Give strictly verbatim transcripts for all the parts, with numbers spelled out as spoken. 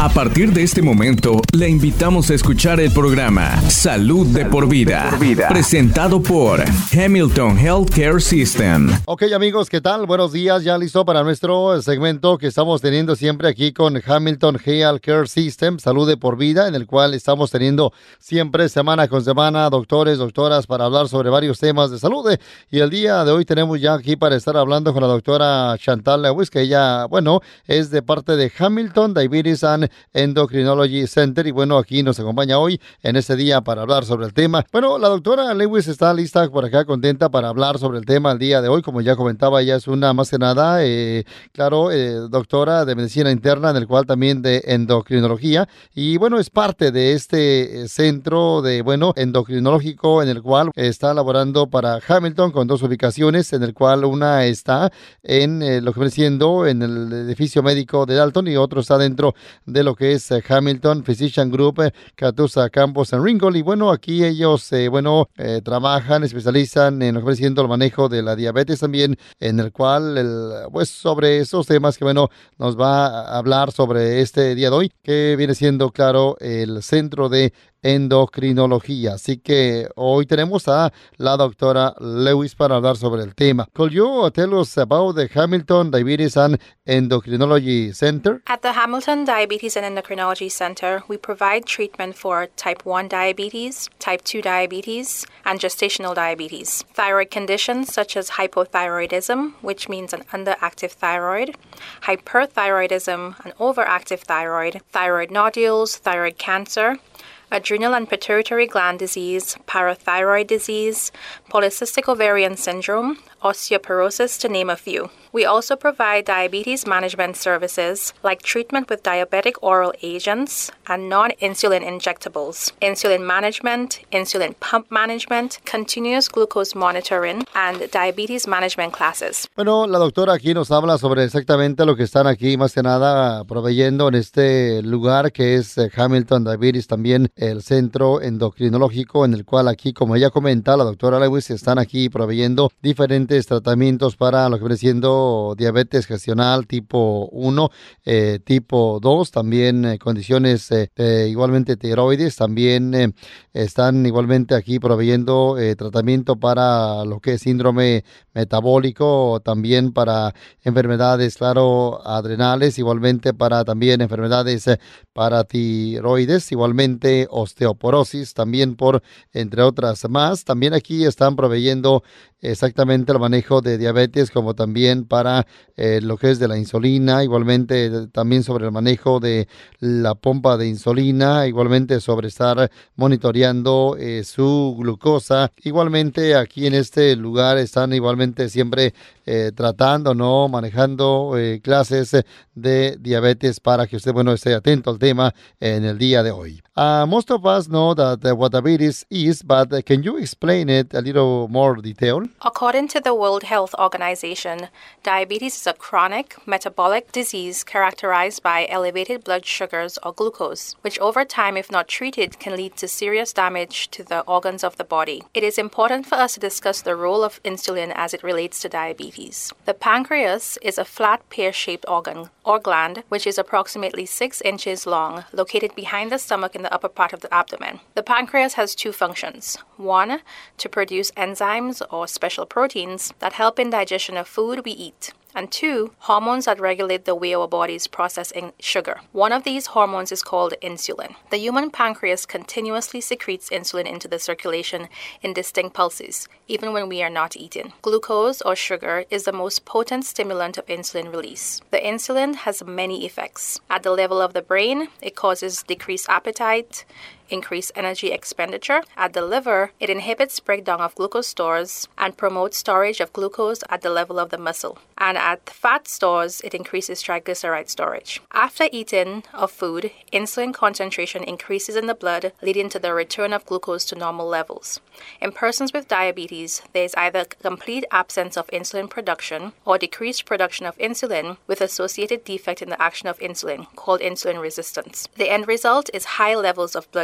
A partir de este momento, le invitamos a escuchar el programa Salud de por Vida, por vida. Presentado por Hamilton Healthcare System. Ok, amigos, ¿qué tal? Buenos días, ya listo para nuestro segmento que estamos teniendo siempre aquí con Hamilton Healthcare System, Salud de por Vida, en el cual estamos teniendo siempre semana con semana doctores, doctoras para hablar sobre varios temas de salud. Y el día de hoy tenemos ya aquí para estar hablando con la doctora Chantal Lewis, que ella, bueno, es de parte de Hamilton Diabetes and Endocrinology Center, y bueno, aquí nos acompaña hoy en este día para hablar sobre el tema. Bueno, la doctora Lewis está lista por acá, contenta para hablar sobre el tema el día de hoy. Como ya comentaba, ella es una, más que nada, eh, claro, eh, doctora de medicina interna, en el cual también de endocrinología, y bueno, es parte de este centro de, bueno, endocrinológico, en el cual está laborando para Hamilton con dos ubicaciones, en el cual una está en eh, lo que viene siendo en el edificio médico de Dalton, y otro está dentro de lo que es eh, Hamilton Physician Group, eh, Catoosa Campus en Ringgold. Y bueno, aquí ellos, eh, bueno, eh, trabajan, especializan en lo que viene siendo el manejo de la diabetes también, en el cual, el, pues, sobre esos temas que, bueno, nos va a hablar sobre este día de hoy, que viene siendo, claro, el centro de endocrinología. Así que hoy tenemos a la doctora Lewis para hablar sobre el tema. Could you tell us about the Hamilton Diabetes and Endocrinology Center? At the Hamilton Diabetes and Endocrinology Center, we provide treatment for type one diabetes, type two diabetes, and gestational diabetes. Thyroid conditions such as hypothyroidism, which means an underactive thyroid, hyperthyroidism, an overactive thyroid, thyroid nodules, thyroid cancer, adrenal and pituitary gland disease, parathyroid disease, polycystic ovarian syndrome, osteoporosis, to name a few. We also provide diabetes management services like treatment with diabetic oral agents and non-insulin injectables, insulin management, insulin pump management, continuous glucose monitoring, and diabetes management classes. Bueno, la doctora aquí nos habla sobre exactamente lo que están aquí, más que nada, proveyendo en este lugar que es Hamilton Diabetes, también el centro endocrinológico, en el cual aquí, como ella comenta, la doctora Lewis, están aquí proveyendo diferentes tratamientos para lo que viene siendo diabetes gestacional tipo uno, eh, tipo dos, también eh, condiciones eh, eh, igualmente tiroides, también eh, están igualmente aquí proveyendo eh, tratamiento para lo que es síndrome metabólico, también para enfermedades, claro, adrenales, igualmente para también enfermedades eh, paratiroides, igualmente osteoporosis, también por entre otras más. También aquí están proveyendo exactamente el manejo de diabetes, como también para eh, lo que es de la insulina, igualmente eh, también sobre el manejo de la pompa de insulina, igualmente sobre estar monitoreando eh, su glucosa. Igualmente aquí en este lugar están igualmente siempre eh, tratando, ¿no? Manejando eh, clases de diabetes para que usted, bueno, esté atento al tema en el día de hoy. Uh, most of us know that uh, what diabetes is, but uh, can you explain it a little more detail? According to the World Health Organization, diabetes is a chronic metabolic disease characterized by elevated blood sugars or glucose, which over time, if not treated, can lead to serious damage to the organs of the body. It is important for us to discuss the role of insulin as it relates to diabetes. The pancreas is a flat pear-shaped organ or gland which is approximately six inches long, located behind the stomach in the upper part of the abdomen. The pancreas has two functions. One, to produce enzymes or special proteins that help in digestion of food we eat. And two, hormones that regulate the way our bodies process sugar. One of these hormones is called insulin. The human pancreas continuously secretes insulin into the circulation in distinct pulses, even when we are not eating. Glucose, or sugar, is the most potent stimulant of insulin release. The insulin has many effects. At the level of the brain, it causes decreased appetite, increase energy expenditure. At the liver, it inhibits breakdown of glucose stores and promotes storage of glucose at the level of the muscle. And at fat stores, it increases triglyceride storage. After eating of food, insulin concentration increases in the blood, leading to the return of glucose to normal levels. In persons with diabetes, there is either complete absence of insulin production or decreased production of insulin with associated defect in the action of insulin, called insulin resistance. The end result is high levels of blood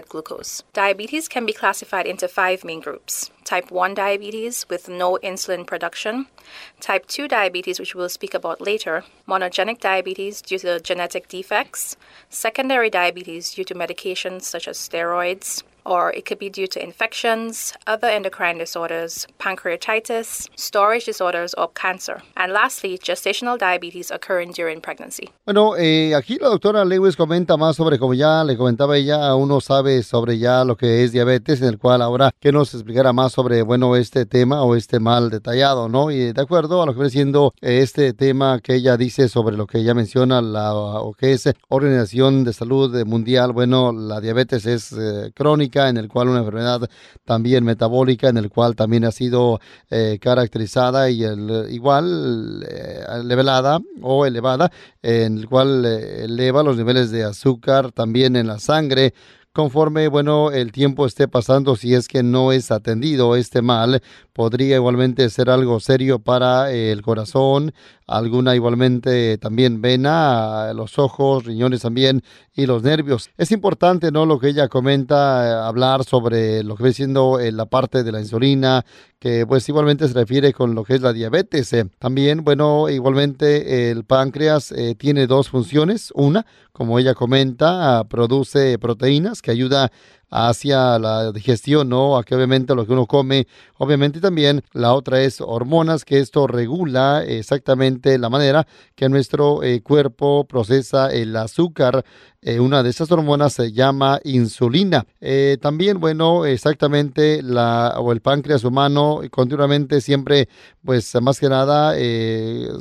glucose. Diabetes can be classified into five main groups. Type one diabetes with no insulin production, type two diabetes, which we'll speak about later, monogenic diabetes due to genetic defects, secondary diabetes due to medications such as steroids, or it could be due to infections, other endocrine disorders, pancreatitis, storage disorders, or cancer. And lastly, gestational diabetes occurring during pregnancy. Bueno, eh, aquí la doctora Lewis comenta más sobre, como ya le comentaba ella, uno sabe sobre ya lo que es diabetes, en el cual ahora que nos explicará más sobre, bueno, este tema o este mal detallado, ¿no? Y de acuerdo a lo que viene siendo este tema que ella dice sobre lo que ella menciona, la, o que es Organización de Salud Mundial, bueno, la diabetes es eh, crónica, en el cual una enfermedad también metabólica, en el cual también ha sido eh, caracterizada y el, igual eh, elevada o elevada, en el cual eh, eleva los niveles de azúcar también en la sangre, conforme, bueno, el tiempo esté pasando. Si es que no es atendido este mal, podría igualmente ser algo serio para eh, el corazón, alguna igualmente también vena, los ojos, riñones también y los nervios. Es importante, ¿no?, lo que ella comenta, eh, hablar sobre lo que viene siendo eh, la parte de la insulina, que pues igualmente se refiere con lo que es la diabetes. Eh. También, bueno, igualmente el páncreas eh, tiene dos funciones. Una, como ella comenta, produce proteínas que ayuda hacia la digestión, ¿no? Aquí obviamente lo que uno come, obviamente también la otra es hormonas, que esto regula exactamente la manera que nuestro eh, cuerpo procesa el azúcar. Eh, una de esas hormonas se llama insulina. Eh, también, bueno, exactamente la o el páncreas humano continuamente siempre, pues más que nada, eh,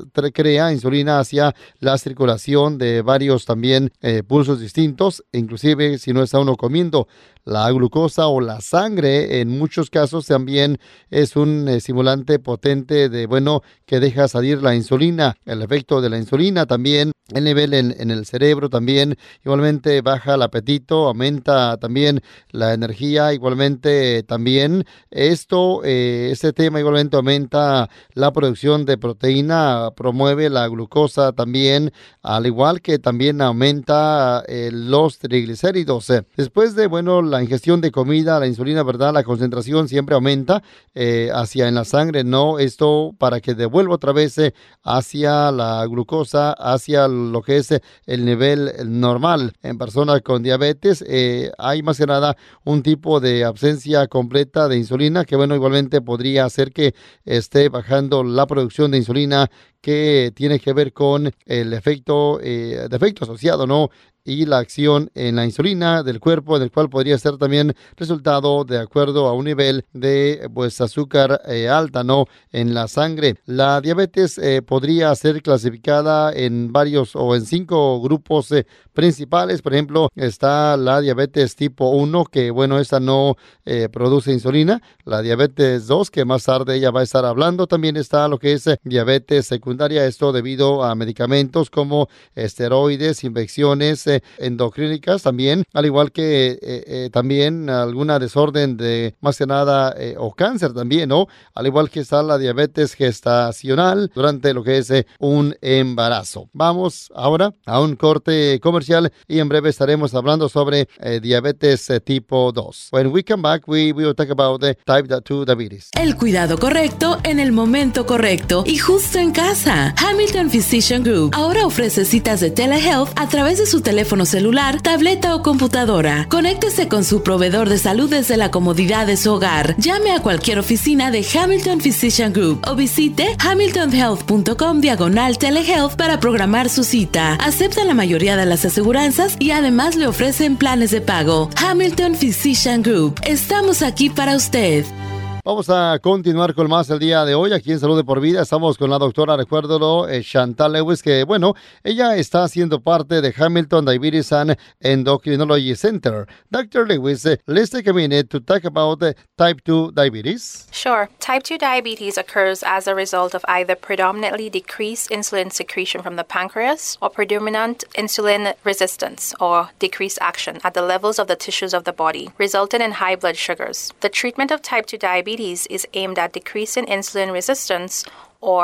crea insulina hacia la circulación de varios también eh, pulsos distintos, inclusive si no está uno comiendo. La glucosa o la sangre en muchos casos también es un estimulante potente de, bueno, que deja salir la insulina. El efecto de la insulina también, el nivel en, en el cerebro también, igualmente baja el apetito, aumenta también la energía, igualmente también esto, eh, este tema igualmente aumenta la producción de proteína, promueve la glucosa también, al igual que también aumenta eh, los triglicéridos. Después de, bueno, la ingestión de comida, la insulina, ¿verdad? La concentración siempre aumenta eh, hacia en la sangre, ¿no? Esto para que devuelva otra vez eh, hacia la glucosa, hacia lo que es eh, el nivel normal. En personas con diabetes eh, hay más que nada un tipo de ausencia completa de insulina que, bueno, igualmente podría hacer que esté bajando la producción de insulina, que tiene que ver con el efecto, eh, de efecto asociado, ¿no?, y la acción en la insulina del cuerpo, del cual podría ser también resultado de acuerdo a un nivel de pues azúcar eh, alta, ¿no?, en la sangre. La diabetes eh, podría ser clasificada en varios o en cinco grupos eh, principales. Por ejemplo, está la diabetes tipo uno, que bueno, esta no eh, produce insulina. La diabetes dos, que más tarde ella va a estar hablando. También está lo que es eh, diabetes secundaria, esto debido a medicamentos como esteroides, infecciones, eh, endocrínicas también, al igual que eh, eh, también alguna desorden de más que nada eh, o cáncer también, ¿no? Al igual que está la diabetes gestacional durante lo que es eh, un embarazo. Vamos ahora a un corte comercial y en breve estaremos hablando sobre eh, diabetes eh, tipo dos. When we come back, we, we will talk about the type two diabetes. El cuidado correcto en el momento correcto y justo en casa. Hamilton Physician Group ahora ofrece citas de telehealth a través de su teléfono celular, tableta o computadora. Conéctese con su proveedor de salud desde la comodidad de su hogar. Llame a cualquier oficina de Hamilton Physician Group o visite hamilton health punto com diagonal telehealth para programar su cita. Aceptan la mayoría de las aseguranzas y además le ofrecen planes de pago. Hamilton Physician Group. Estamos aquí para usted. Vamos a continuar con más el día de hoy aquí en Salud de Por Vida. Estamos con la doctora, recuérdalo, eh, Chantal Lewis, que bueno, ella está siendo parte de Hamilton Diabetes and Endocrinology Center. doctor Lewis, uh, let's take a minute to talk about uh, type two diabetes. Sure. Type two diabetes occurs as a result of either predominantly decreased insulin secretion from the pancreas or predominant insulin resistance or decreased action at the levels of the tissues of the body, resulting in high blood sugars. The treatment of type two diabetes is aimed at decreasing insulin resistance or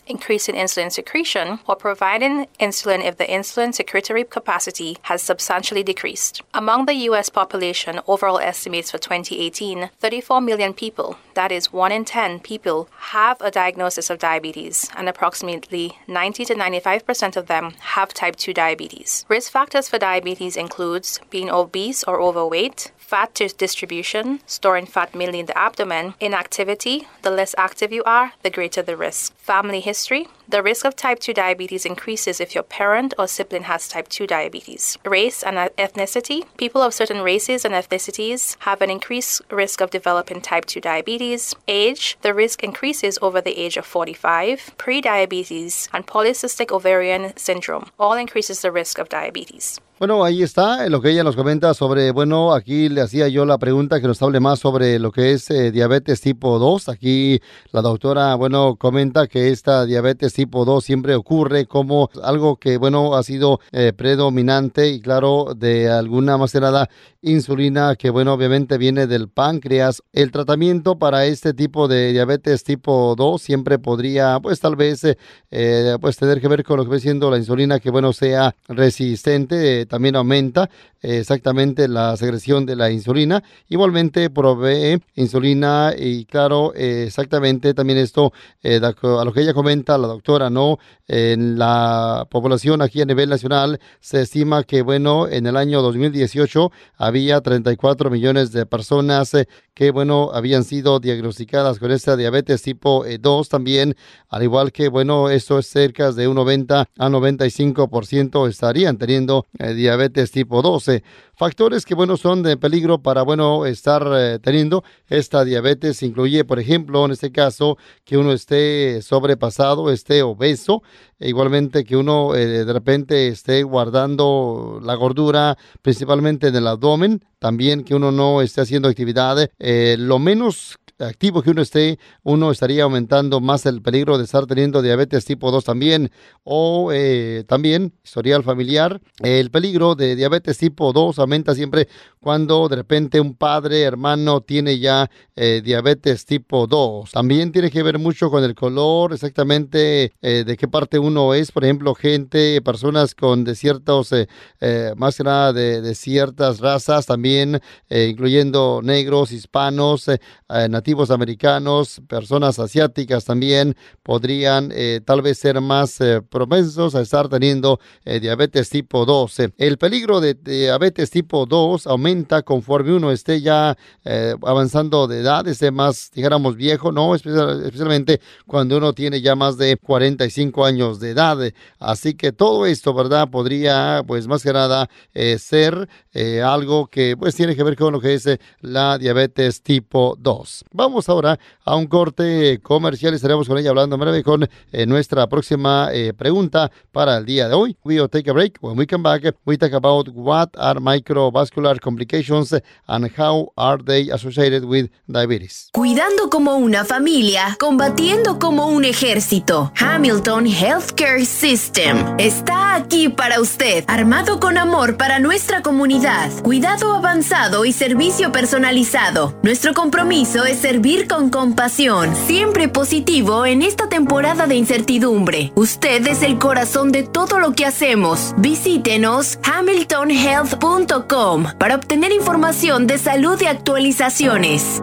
increasing insulin secretion, or providing insulin if the insulin secretory capacity has substantially decreased. Among the U S population, overall estimates for twenty eighteen, thirty-four million people, that is one in ten people, have a diagnosis of diabetes, and approximately ninety to ninety-five percent of them have type two diabetes. Risk factors for diabetes includes being obese or overweight, fat distribution, storing fat mainly in the abdomen, inactivity. The less active you are, the greater the risk. Family history. The risk of type two diabetes increases if your parent or sibling has type two diabetes. Race and ethnicity. People of certain races and ethnicities have an increased risk of developing type two diabetes. Age. The risk increases over the age of forty-five. Prediabetes and polycystic ovarian syndrome all increases the risk of diabetes. Bueno, ahí está lo que ella nos comenta sobre, bueno, aquí le hacía yo la pregunta que nos hable más sobre lo que es eh, diabetes tipo dos. Aquí la doctora, bueno, comenta que esta diabetes tipo dos siempre ocurre como algo que, bueno, ha sido eh, predominante y, claro, de alguna más que nada insulina que, bueno, obviamente viene del páncreas. El tratamiento para este tipo de diabetes tipo dos siempre podría, pues, tal vez, eh, pues, tener que ver con lo que viene siendo la insulina que, bueno, sea resistente. Eh, también aumenta eh, exactamente la secreción de la insulina. Igualmente provee insulina y, claro, eh, exactamente también esto, eh, a lo que ella comenta, la doctora, ¿no? En la población aquí a nivel nacional se estima que, bueno, en el año dos mil dieciocho había treinta y cuatro millones de personas eh, que, bueno, habían sido diagnosticadas con esta diabetes tipo dos también, al igual que, bueno, esto es cerca de un noventa a noventa y cinco por ciento estarían teniendo eh, diabetes tipo dos. Factores que, bueno, son de peligro para, bueno, estar eh, teniendo esta diabetes incluye, por ejemplo, en este caso, que uno esté sobrepasado, esté obeso, e igualmente que uno eh, de repente esté guardando la gordura, principalmente en el abdomen, también que uno no esté haciendo actividad, eh, lo menos activo que uno esté, uno estaría aumentando más el peligro de estar teniendo diabetes tipo dos también, o eh, también historial familiar. El peligro de diabetes tipo dos aumenta siempre cuando de repente un padre, hermano tiene ya eh, diabetes tipo dos. También tiene que ver mucho con el color, exactamente eh, de qué parte uno es. Por ejemplo, gente, personas con de ciertos, eh, eh, más que nada de, de ciertas razas también, eh, incluyendo negros, hispanos, eh, eh, nativos americanos, personas asiáticas también podrían eh, tal vez ser más eh, propensos a estar teniendo eh, diabetes tipo dos. El peligro de, de diabetes tipo dos aumenta conforme uno esté ya eh, avanzando de edad, esté más, dijéramos, viejo, ¿no? Especial, especialmente cuando uno tiene ya más de cuarenta y cinco años de edad. Así que todo esto, ¿verdad? Podría, pues más que nada, eh, ser eh, algo que pues tiene que ver con lo que es eh, la diabetes tipo dos. Vamos ahora a un corte comercial y estaremos con ella hablando en breve con eh, nuestra próxima eh, pregunta para el día de hoy. We will take a break. When we come back, we talk about what are microvascular complications and how are they associated with diabetes. Cuidando como una familia, combatiendo como un ejército. Hamilton Healthcare System está aquí para usted, armado con amor para nuestra comunidad, cuidado avanzado y servicio personalizado. Nuestro compromiso es servir con compasión, siempre positivo en esta temporada de incertidumbre. Usted es el corazón de todo lo que hacemos. Visítenos hamilton health punto com para obtener información de salud y actualizaciones.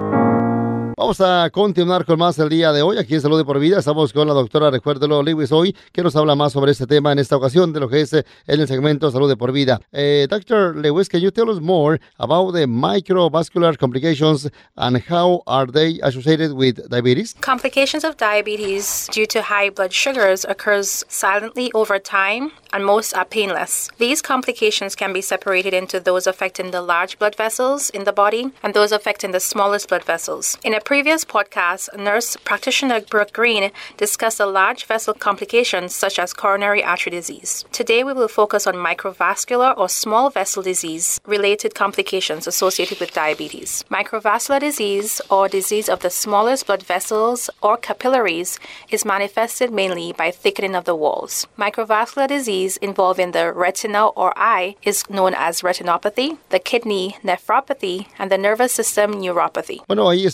Vamos a continuar con más el día de hoy aquí en Salud de Por Vida. Estamos con la doctora, recuérdelo, Lewis hoy, que nos habla más sobre este tema en esta ocasión de lo que es en el segmento Salud de Por Vida. Uh, Doctor Lewis, can you tell us more about the microvascular complications and how are they associated with diabetes? Complications of diabetes due to high blood sugars occurs silently over time, and most are painless. These complications can be separated into those affecting the large blood vessels in the body and those affecting the smallest blood vessels. In a previous podcast, nurse practitioner Brooke Green discussed the large vessel complications such as coronary artery disease. Today we will focus on microvascular or small vessel disease related complications associated with diabetes. Microvascular disease or disease of the smallest blood vessels or capillaries is manifested mainly by thickening of the walls. Microvascular disease involving the retina or eye is known as retinopathy, the kidney nephropathy, and the nervous system neuropathy. Bueno, ahí está. Recuerden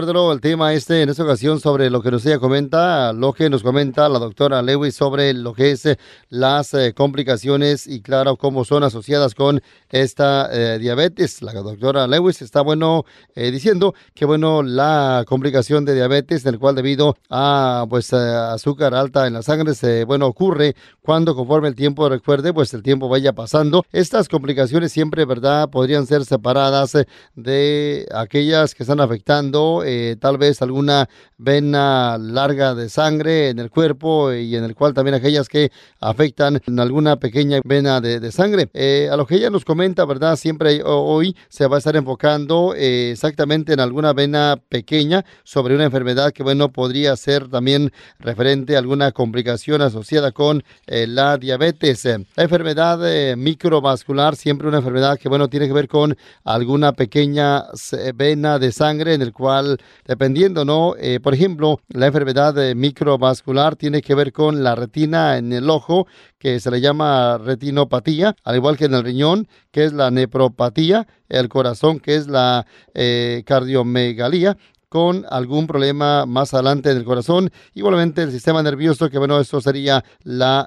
recuérdalo, el tema este en esta ocasión sobre lo que nos ella comenta, lo que nos comenta la doctora Lewis sobre lo que es eh, las eh, complicaciones y claro, cómo son asociadas con esta eh, diabetes. La doctora Lewis está, bueno, eh, diciendo que, bueno, la complicación de diabetes, en el cual debido a, pues, eh, azúcar alta en la sangre, se, bueno, ocurre cuando conforme el tiempo, recuerde, pues el tiempo vaya pasando. Estas complicaciones siempre, ¿verdad?, podrían ser separadas eh, de aquellas que están afectando eh, tal vez alguna vena larga de sangre en el cuerpo y en el cual también aquellas que afectan en alguna pequeña vena de, de sangre. Eh, a lo que ella nos comenta, ¿verdad?, siempre hoy se va a estar enfocando eh, exactamente en alguna vena pequeña sobre una enfermedad que, bueno, podría ser también referente a alguna complicación asociada con eh, la diabetes. Eh, la enfermedad eh, microvascular, siempre una enfermedad que, bueno, tiene que ver con alguna pequeña vena de sangre en el cual, dependiendo, ¿no? Eh, por ejemplo, la enfermedad eh, microvascular tiene que ver con la retina en el ojo, que se le llama retinopatía, al igual que en el riñón, que es la nefropatía, el corazón, que es la eh, cardiomegalía, con algún problema más adelante del corazón, igualmente el sistema nervioso, que, bueno, eso sería la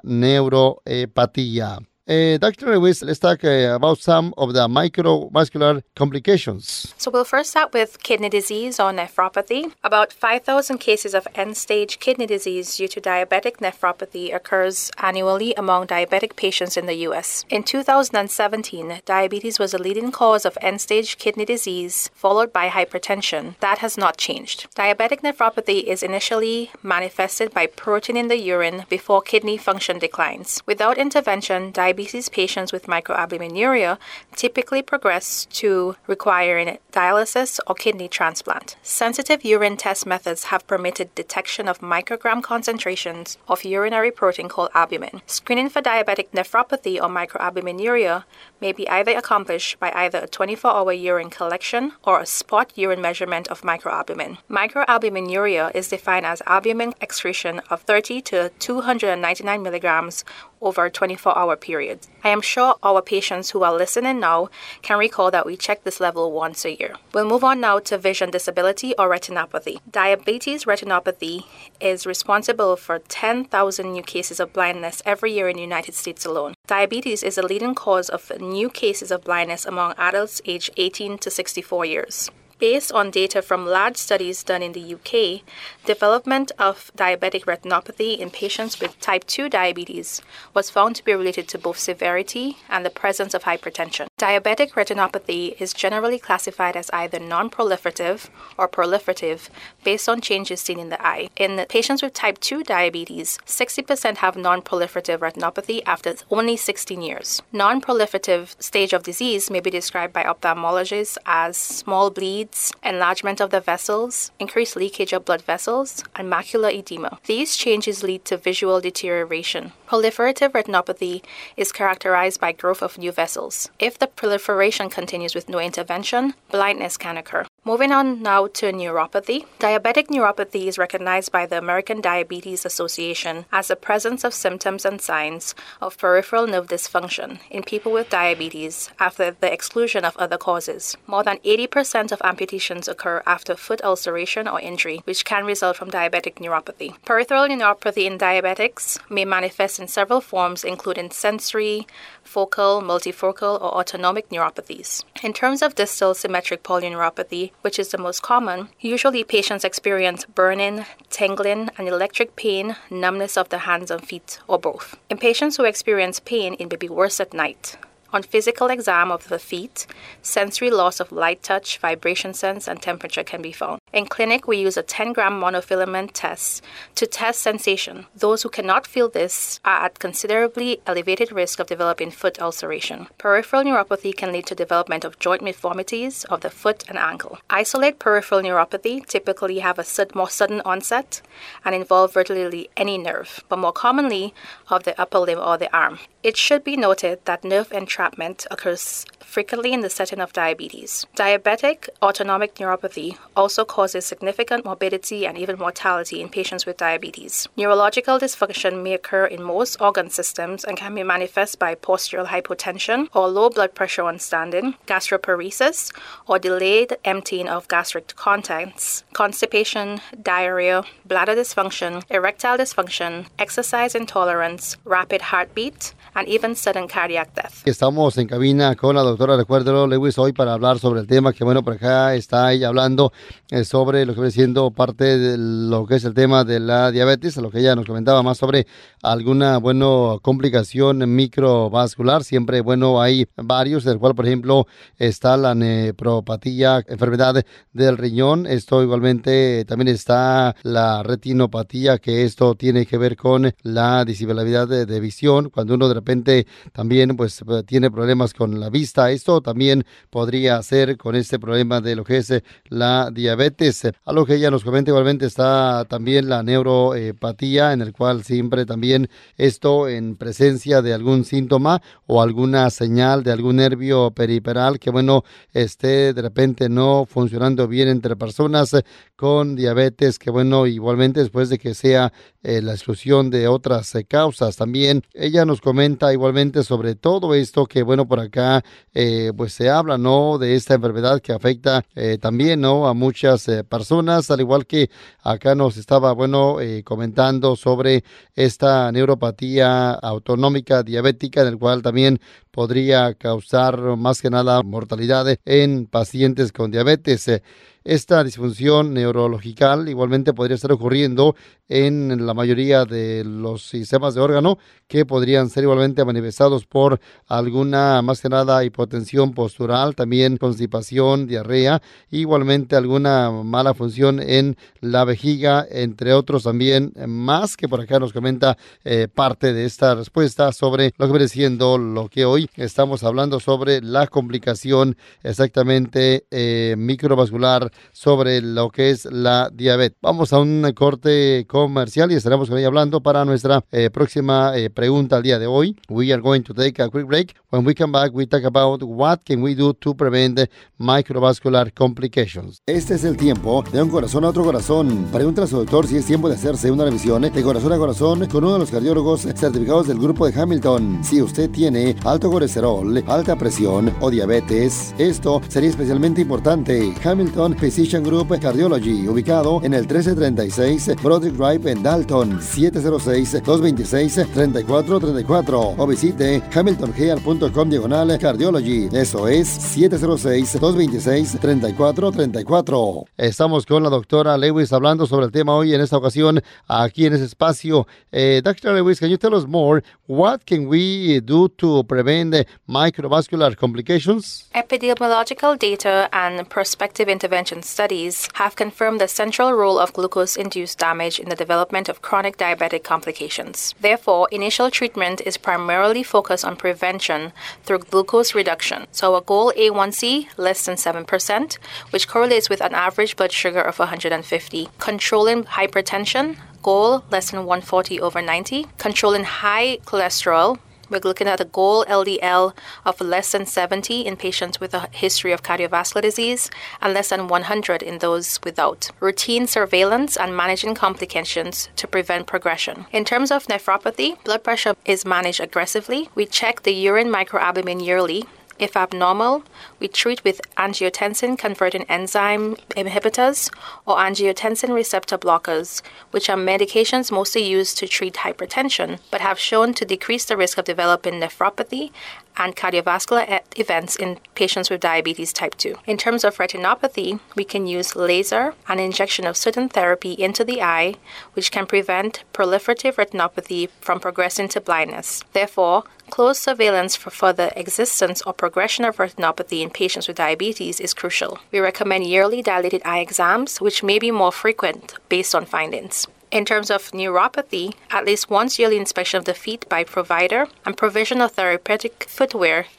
neuropatía. Uh, Doctor Lewis, let's talk uh, about some of the microvascular complications. So we'll first start with kidney disease or nephropathy. About five thousand cases of end-stage kidney disease due to diabetic nephropathy occurs annually among diabetic patients in the U S. In two thousand seventeen, diabetes was the leading cause of end-stage kidney disease, followed by hypertension. That has not changed. Diabetic nephropathy is initially manifested by protein in the urine before kidney function declines. Without intervention, diabetes Diabetes patients with microalbuminuria typically progress to requiring dialysis or kidney transplant. Sensitive urine test methods have permitted detection of microgram concentrations of urinary protein called albumin. Screening for diabetic nephropathy or microalbuminuria may be either accomplished by either a twenty-four hour urine collection or a spot urine measurement of microalbumin. Microalbuminuria is defined as albumin excretion of thirty to two hundred ninety-nine milligrams over a twenty-four hour period. I am sure our patients who are listening now can recall that we check this level once a year. We'll move on now to vision disability or retinopathy. Diabetes retinopathy is responsible for ten thousand new cases of blindness every year in the United States alone. Diabetes is the leading cause of new cases of blindness among adults aged eighteen to sixty-four years. Based on data from large studies done in the U K, development of diabetic retinopathy in patients with type two diabetes was found to be related to both severity and the presence of hypertension. Diabetic retinopathy is generally classified as either non-proliferative or proliferative based on changes seen in the eye. In the patients with type two diabetes, sixty percent have non-proliferative retinopathy after only sixteen years. Non-proliferative stage of disease may be described by ophthalmologists as small bleeds, enlargement of the vessels, increased leakage of blood vessels, and macular edema. These changes lead to visual deterioration. Proliferative retinopathy is characterized by growth of new vessels. If the proliferation continues with no intervention, blindness can occur. Moving on now to neuropathy. Diabetic neuropathy is recognized by the American Diabetes Association as the presence of symptoms and signs of peripheral nerve dysfunction in people with diabetes after the exclusion of other causes. More than eighty percent of amputations occur after foot ulceration or injury, which can result from diabetic neuropathy. Peripheral neuropathy in diabetics may manifest in several forms, including sensory, focal, multifocal, or autonomic neuropathies. In terms of distal symmetric polyneuropathy, which is the most common, usually patients experience burning, tingling, and electric pain, numbness of the hands and feet, or both. In patients who experience pain, it may be worse at night. On physical exam of the feet, sensory loss of light touch, vibration sense, and temperature can be found. In clinic, we use a ten gram monofilament test to test sensation. Those who cannot feel this are at considerably elevated risk of developing foot ulceration. Peripheral neuropathy can lead to development of joint deformities of the foot and ankle. Isolate peripheral neuropathy typically have a sud- more sudden onset and involve virtually any nerve, but more commonly of the upper limb or the arm. It should be noted that nerve entrapment occurs frequently in the setting of diabetes. Diabetic autonomic neuropathy, also called causes significant morbidity and even mortality in patients with diabetes. Neurological dysfunction may occur in most organ systems and can be manifest by postural hypotension or low blood pressure on standing, gastroparesis, or delayed emptying of gastric contents, constipation, diarrhea, bladder dysfunction, erectile dysfunction, exercise intolerance, rapid heartbeat, and even sudden cardiac death. Estamos en cabina con la doctora, recuérdelo, Lewis, hoy para hablar sobre el tema que, bueno, por acá está ella hablando eh, sobre lo que viene siendo parte de lo que es el tema de la diabetes, lo que ella nos comentaba más sobre alguna, bueno, complicación microvascular. Siempre, bueno, hay varios, del cual, por ejemplo, está la nefropatía, enfermedad del riñón. Esto igualmente también está la retinopatía, que esto tiene que ver con la discapacidad de, de visión, cuando uno de repente también pues tiene problemas con la vista. Esto también podría ser con este problema de lo que es la diabetes. A lo que ella nos comenta, igualmente está también la neuropatía, en el cual siempre también esto en presencia de algún síntoma o alguna señal de algún nervio periferal que, bueno, esté de repente no funcionando bien entre personas con diabetes, que, bueno, igualmente después de que sea eh, la exclusión de otras eh, causas. También ella nos comenta igualmente sobre todo esto que, bueno, por acá eh, pues se habla, ¿no?, de esta enfermedad que afecta eh, también, ¿no?, a muchas eh, personas, al igual que acá nos estaba, bueno, eh, comentando sobre esta neuropatía autonómica diabética, en el cual también podría causar más que nada mortalidad en pacientes con diabetes. Esta disfunción neurológica igualmente podría estar ocurriendo en la mayoría de los sistemas de órgano, que podrían ser igualmente manifestados por alguna, más que nada, hipotensión postural, también constipación, diarrea, igualmente alguna mala función en la vejiga, entre otros también más, que por acá nos comenta eh, parte de esta respuesta sobre lo que viene siendo lo que hoy estamos hablando sobre la complicación exactamente eh, microvascular sobre lo que es la diabetes. Vamos a un corte comercial y estaremos con ella hablando para nuestra eh, próxima eh, pregunta al día de hoy. We are going to take a quick break. When we come back, we talk about what can we do to prevent microvascular complications. Este es el tiempo de un corazón a otro corazón. Pregúntale a su doctor si es tiempo de hacerse una revisión de corazón a corazón con uno de los cardiólogos certificados del grupo de Hamilton. Si usted tiene alto colesterol, alta presión o diabetes, esto sería especialmente importante. Hamilton Physician Group Cardiology, ubicado en el trece treinta y seis Broderick Drive en Dalton, siete cero seis, dos dos seis, tres cuatro tres cuatro, o visite hamilton health punto com diagonal cardiology. Eso es siete cero seis, dos dos seis, tres cuatro tres cuatro. Estamos con la doctora Lewis hablando sobre el tema hoy en esta ocasión aquí en ese espacio. Eh, doctor Lewis, can you tell us more? What can we do to prevent microvascular complications? Epidemiological data and prospective intervention studies have confirmed the central role of glucose-induced damage in the development of chronic diabetic complications. Therefore, initial treatment is primarily focused on prevention through glucose reduction. So a goal A one C less than seven percent, which correlates with an average blood sugar of one hundred fifty. Controlling hypertension, goal less than one forty over ninety. Controlling high cholesterol, we're looking at a goal L D L of less than seventy in patients with a history of cardiovascular disease and less than one hundred in those without. Routine surveillance and managing complications to prevent progression. In terms of nephropathy, blood pressure is managed aggressively. We check the urine microalbumin yearly. If abnormal, we treat with angiotensin-converting enzyme inhibitors or angiotensin receptor blockers, which are medications mostly used to treat hypertension, but have shown to decrease the risk of developing nephropathy and cardiovascular events in patients with diabetes type two. In terms of retinopathy, we can use laser and injection of certain therapy into the eye, which can prevent proliferative retinopathy from progressing to blindness. Therefore, close surveillance for further existence or progression of retinopathy in patients with diabetes is crucial. We recommend yearly dilated eye exams, which may be more frequent based on findings. In terms of neuropathy, at least once yearly inspection of the feet by provider and provision of therapeutic footwear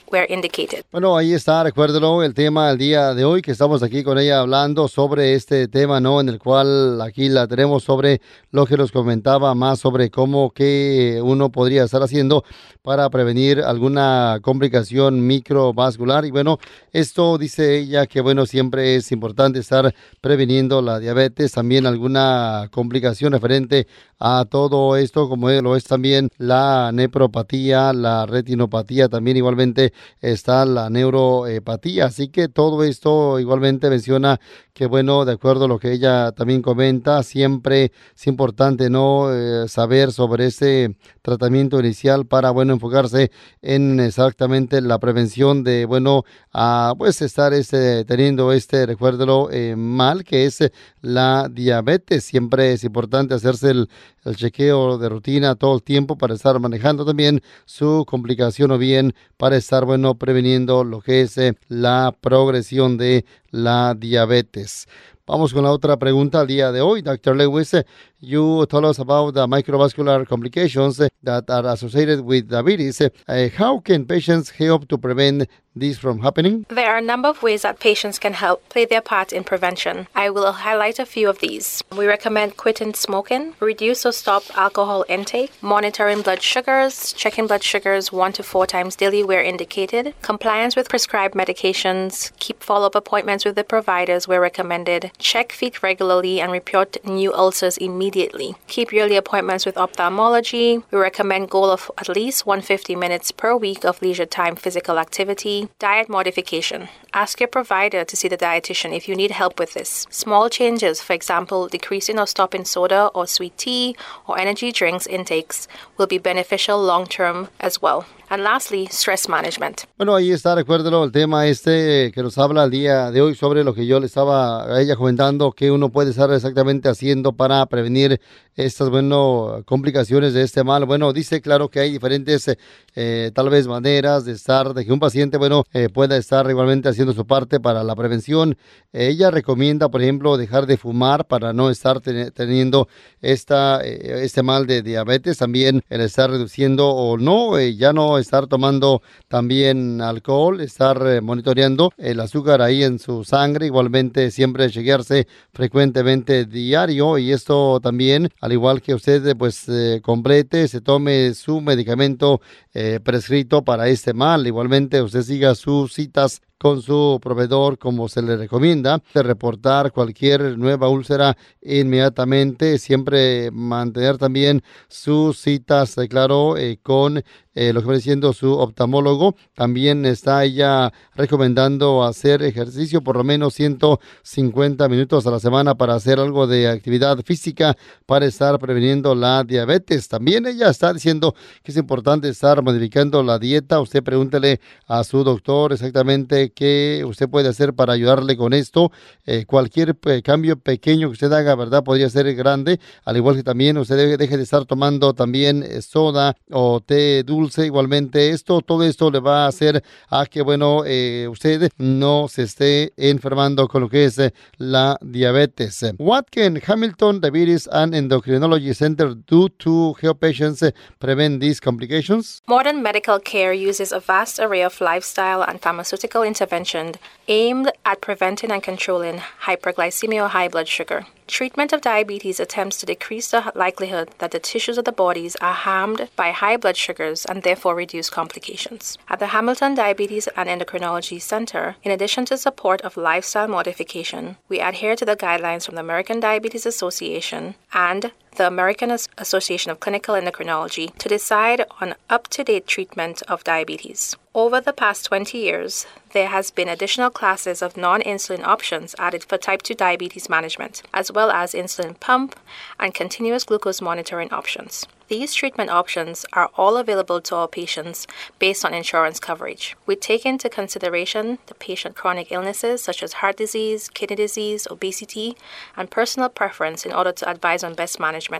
where indicated. Bueno, ahí está, recuérdelo, el tema del día de hoy, que estamos aquí con ella hablando sobre este tema, ¿no? En el cual aquí la tenemos sobre lo que nos comentaba más sobre cómo que uno podría estar haciendo para prevenir alguna complicación microvascular. Y bueno, esto dice ella que bueno, siempre es importante estar previniendo la diabetes, también alguna complicación referente a todo esto, como lo es también la nefropatía, la retinopatía, también igualmente está la neuropatía. Así que todo esto igualmente menciona que bueno, de acuerdo a lo que ella también comenta, siempre es importante no eh, saber sobre ese tratamiento inicial para bueno enfocarse en exactamente la prevención de bueno a pues estar este teniendo este recuérdelo eh, mal que es eh, la diabetes. Siempre es importante hacerse el, el chequeo de rutina todo el tiempo para estar manejando también su complicación o bien para estar bueno previniendo lo que es eh, la progresión de la diabetes. Vamos con la otra pregunta al día de hoy. doctor Lewis, you told us about the microvascular complications that are associated with diabetes. Uh, how can patients help to prevent this from happening? There are a number of ways that patients can help play their part in prevention. I will highlight a few of these. We recommend quitting smoking, reduce or stop alcohol intake, monitoring blood sugars, checking blood sugars one to four times daily where indicated, compliance with prescribed medications, keep follow-up appointments with the providers where recommended, check feet regularly and report new ulcers immediately. Keep yearly appointments with ophthalmology. We recommend goal of at least one hundred fifty minutes per week of leisure time physical activity. Diet modification. Ask your provider to see the dietitian if you need help with this. Small changes, for example, decreasing or stopping soda or sweet tea or energy drinks intakes will be beneficial long-term as well. And lastly, stress management. Bueno, ahí está, recuérdelo, el tema este que nos habla el día de hoy sobre lo que yo le estaba a ella comentando, que uno puede estar exactamente haciendo para prevenir estas, bueno, complicaciones de este mal. Bueno, dice, claro, que hay diferentes, eh, tal vez, maneras de estar, de que un paciente, bueno, eh, pueda estar igualmente haciendo su parte para la prevención. Eh, ella recomienda, por ejemplo, dejar de fumar para no estar ten- teniendo esta, eh, este mal de diabetes. También el estar reduciendo o no, eh, ya no estar tomando también alcohol, estar eh, monitoreando el azúcar ahí en su sangre, igualmente siempre chequearse frecuentemente diario, y esto también, al igual que usted pues eh, complete, se tome su medicamento eh, prescrito para este mal. Igualmente usted siga sus citas con su proveedor como se le recomienda, de reportar cualquier nueva úlcera inmediatamente, siempre mantener también sus citas, eh, claro, eh, con eh, lo que viene siendo su oftalmólogo. También está ella recomendando hacer ejercicio por lo menos ciento cincuenta minutos a la semana para hacer algo de actividad física para estar previniendo la diabetes. También ella está diciendo que es importante estar modificando la dieta. Usted pregúntele a su doctor exactamente qué usted puede hacer para ayudarle con esto. Eh, cualquier eh, cambio pequeño que usted haga, ¿verdad?, podría ser grande. Al igual que también usted debe, deje de estar tomando también eh, soda o té dulce. Igualmente esto, todo esto le va a hacer a que, bueno, eh, usted no se esté enfermando con lo que es eh, la diabetes. What can Hamilton Diabetes and Endocrinology Center do to help patients eh, prevent these complications? Modern medical care uses a vast array of lifestyle and pharmaceutical intervention aimed at preventing and controlling hyperglycemia or high blood sugar. Treatment of diabetes attempts to decrease the likelihood that the tissues of the bodies are harmed by high blood sugars and therefore reduce complications. At the Hamilton Diabetes and Endocrinology Center, in addition to support of lifestyle modification, we adhere to the guidelines from the American Diabetes Association and the American Association of Clinical Endocrinology to decide on up-to-date treatment of diabetes. Over the past twenty years, there has been additional classes of non-insulin options added for type two diabetes management, as well as insulin pump and continuous glucose monitoring options. These treatment options are all available to our patients based on insurance coverage. We take into consideration the patient's chronic illnesses such as heart disease, kidney disease, obesity, and personal preference in order to advise on best management.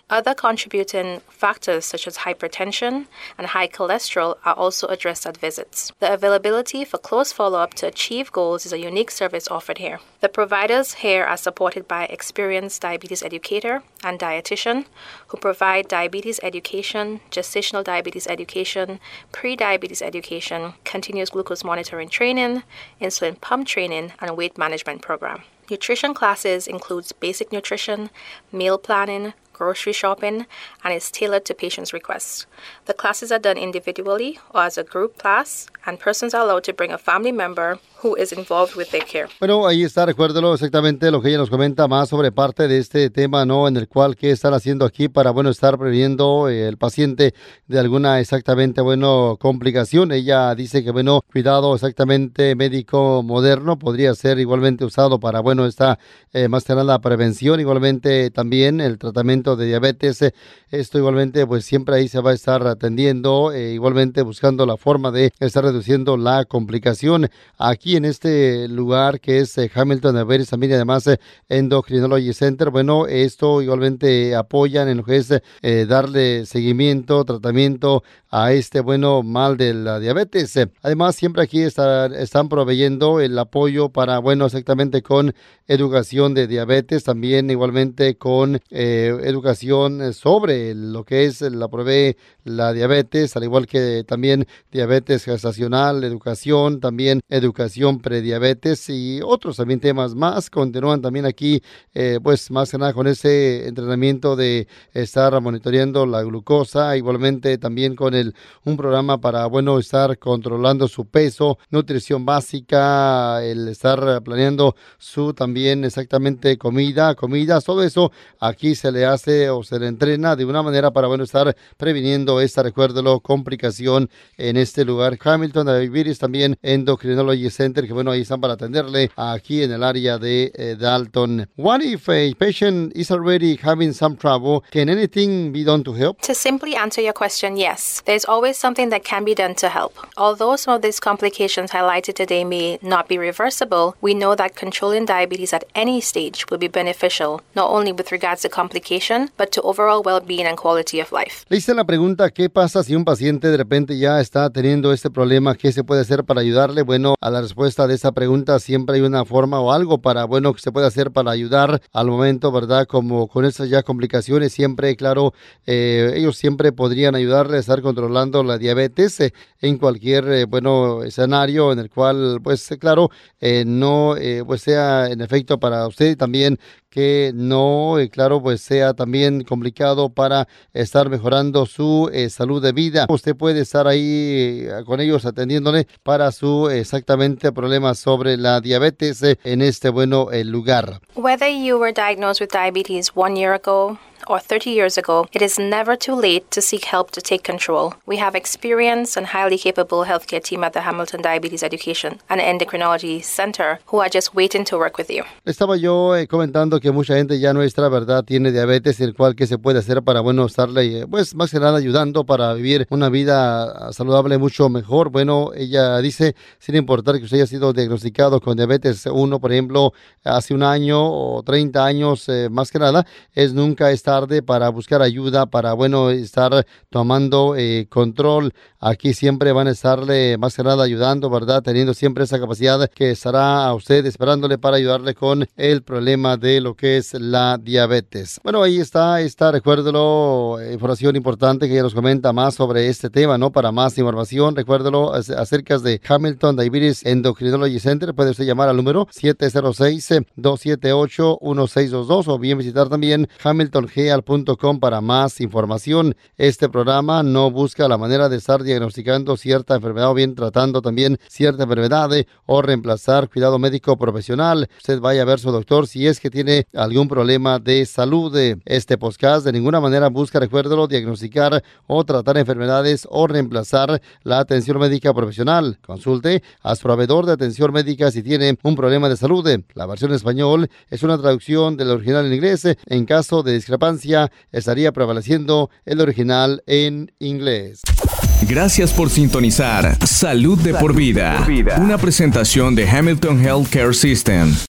Other contributing factors such as hypertension and high cholesterol are also addressed at visits. The availability for close follow-up to achieve goals is a unique service offered here. The providers here are supported by experienced diabetes educator and dietitian who provide diabetes education, gestational diabetes education, pre-diabetes education, continuous glucose monitoring training, insulin pump training, and weight management program. Nutrition classes includes basic nutrition, meal planning, grocery shopping, and is tailored to patients' requests. The classes are done individually or as a group class, and persons are allowed to bring a family member who is involved with their care. Bueno, ahí está, recuérdelo exactamente lo que ella nos comenta más sobre parte de este tema, ¿no? En el cual, ¿qué están haciendo aquí para, bueno, estar previniendo eh, el paciente de alguna exactamente, bueno, complicación? Ella dice que, bueno, cuidado exactamente médico moderno podría ser igualmente usado para, bueno, esta eh, más que nada prevención, igualmente también el tratamiento de diabetes. Eh, esto igualmente, pues siempre ahí se va a estar atendiendo, eh, igualmente buscando la forma de estar reduciendo la complicación. Aquí en este lugar que es eh, Hamilton Diabetes, también además eh, Endocrinology Center, bueno, esto igualmente apoyan en lo que es eh, darle seguimiento, tratamiento a este bueno mal de la diabetes. Además, siempre aquí está, están proveyendo el apoyo para, bueno, exactamente con educación de diabetes, también igualmente con eh, educación sobre lo que es la provee la diabetes, al igual que también diabetes gestacional, educación, también educación prediabetes y otros también temas más. Continúan también aquí, eh, pues más que nada con ese entrenamiento de estar monitoreando la glucosa, igualmente también con el un programa para, bueno, estar controlando su peso, nutrición básica, el estar planeando su también exactamente comida, comidas, todo eso aquí se le hace o se le entrena de una manera para, bueno, estar previniendo esta, recuérdelo, complicación en este lugar. Hamilton Diabetes, también Endocrinology Center, que bueno, ahí están para atenderle aquí en el área de eh, Dalton. What if a patient is already having some trouble? Can anything be done to help? To simply answer your question, yes. There's always something that can be done to help. Although some of these complications highlighted today may not be reversible, we know that controlling diabetes at any stage will be beneficial, not only with regards to complication, but to overall well-being and quality of life. Le hice la pregunta, ¿qué pasa si un paciente de repente ya está teniendo este problema? ¿Qué se puede hacer para ayudarle? Bueno, a la respuesta de esa pregunta siempre hay una forma o algo para, bueno, que se puede hacer para ayudar al momento, ¿verdad? Como con esas ya complicaciones, siempre, claro, eh, ellos siempre podrían ayudarle a estar controlando la diabetes eh, en cualquier, eh, bueno, escenario en el cual, pues, eh, claro, eh, no, eh, pues sea en efecto para usted y también que no, eh, claro, pues sea también complicado para estar mejorando su eh, salud de vida. Usted puede estar ahí eh, con ellos atendiéndole para su exactamente problema sobre la diabetes eh, en este bueno eh, lugar. Whether you were diagnosed with diabetes one year ago or thirty years ago, it is never too late to seek help to take control. We have experienced and highly capable healthcare team at the Hamilton Diabetes Education and Endocrinology Center who are just waiting to work with you. Estaba yo eh, comentando que mucha gente ya nuestra, ¿verdad?, tiene diabetes, el cual qué se puede hacer para, bueno, estarle, pues, más que nada ayudando para vivir una vida saludable mucho mejor. Bueno, ella dice, sin importar que usted haya sido diagnosticado con diabetes uno, por ejemplo, hace un año o treinta años, eh, más que nada, es nunca es tarde para buscar ayuda, para, bueno, estar tomando eh, control. Aquí siempre van a estarle más que nada ayudando, ¿verdad?, teniendo siempre esa capacidad que estará a usted esperándole para ayudarle con el problema de lo que es la diabetes. Bueno, ahí está, está, recuérdelo, información importante que ella nos comenta más sobre este tema, ¿no? Para más información, recuérdelo, acerca de Hamilton Diabetes Endocrinology Center, puede usted llamar al número siete cero seis, dos siete ocho, uno seis dos dos o bien visitar también hamilton heal punto com para más información. Este programa no busca la manera de estar diagnosticando cierta enfermedad o bien tratando también cierta enfermedad eh, o reemplazar cuidado médico profesional. Usted vaya a ver su doctor si es que tiene algún problema de salud. Este podcast de ninguna manera busca, recuérdelo, diagnosticar o tratar enfermedades o reemplazar la atención médica profesional. Consulte a su proveedor de atención médica si tiene un problema de salud. La versión en español es una traducción del original en inglés. En caso de discrepancia, estaría prevaleciendo el original en inglés. Gracias por sintonizar Salud de por vida, una presentación de Hamilton Healthcare System.